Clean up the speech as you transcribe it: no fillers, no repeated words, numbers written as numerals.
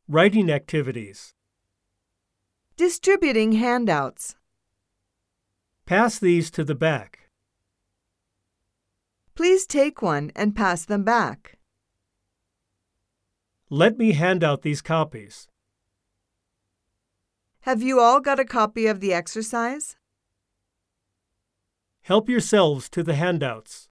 Writing activities. Distributing handouts. Pass these to the back. Please take one and pass them back. Let me hand out these copies. Have you all got a copy of the exercise? Help yourselves to the handouts.